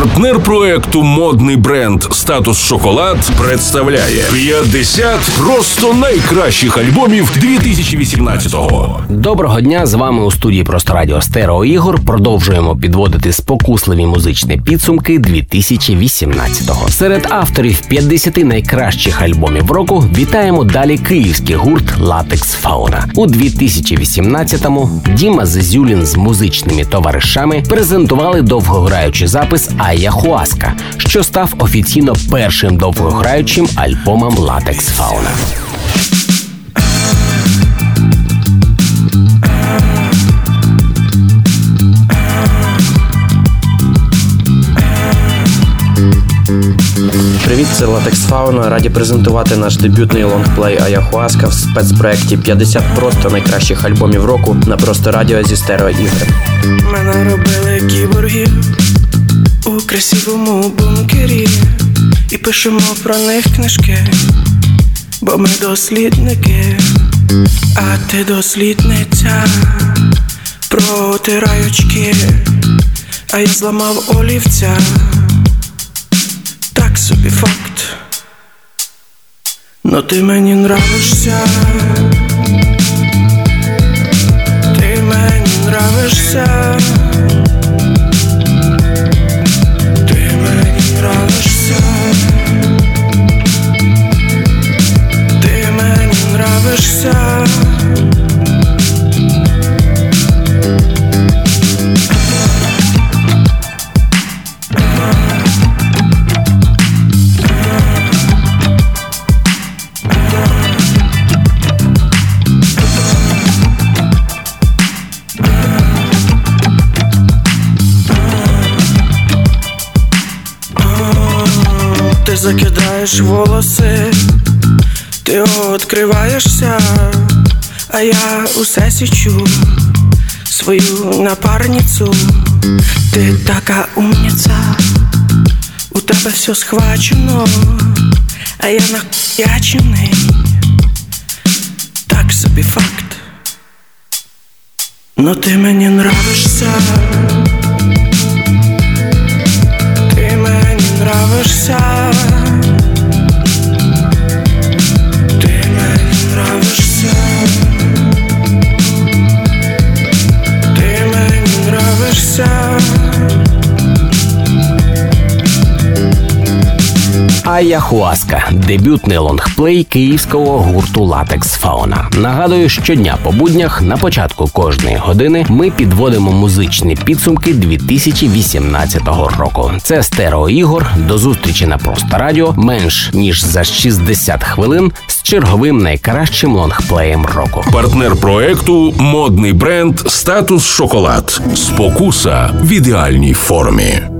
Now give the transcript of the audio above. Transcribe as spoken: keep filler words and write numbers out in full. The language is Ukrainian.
Партнер проекту модний бренд «Статус Шоколад» представляє п'ятдесят просто найкращих альбомів дві тисячі вісімнадцятого. Доброго дня, з вами у студії Просто Радіо Стерео Ігор. Продовжуємо підводити спокусливі музичні підсумки дві тисячі вісімнадцятого. Серед авторів п'ятдесят найкращих альбомів року вітаємо далі київський гурт «Латекс Фауна». У дві тисячі вісімнадцятому Діма Зезюлін з музичними товаришами презентували довгограючий запис «Аяхуаска», що став офіційно першим довгограючим альбомом «Латекс Фауна». Привіт, це Латекс Фауна. Раді презентувати наш дебютний лонгплей «Аяхуаска» в спецпроекті п'ятдесят просто найкращих альбомів року на Просто Радіо зі Стерео Ігор. Мене робили кіборгів у красивому бункері, і пишемо про них книжки, бо ми дослідники, а ти дослідниця. Протирай очки, а я зламав олівця. Так собі факт, но ти мені нравишся. Ти мені нравишся. Ти мені нравишся. Ти мені нравишся. Ти закидаєш волоси, ти відкриваєшся, а я усе січу свою напарницю. Ти така умниця, у тебе все схвачено, а я нахуячений. Так собі факт, но ти мені нравишся. Ти мені нравишся. Ти мені нравишся. Ти мені нравишся. «Аяхуаска» – дебютний лонгплей київського гурту «Латекс Фауна». Нагадую, щодня по буднях на початку кожної години ми підводимо музичні підсумки дві тисячі вісімнадцятого року. Це Стерео Ігор. До зустрічі на Просто Радіо менш ніж за шістдесят хвилин з черговим найкращим лонгплеєм року. Партнер проекту модний бренд «Статус Шоколад». Спокуса в ідеальній формі.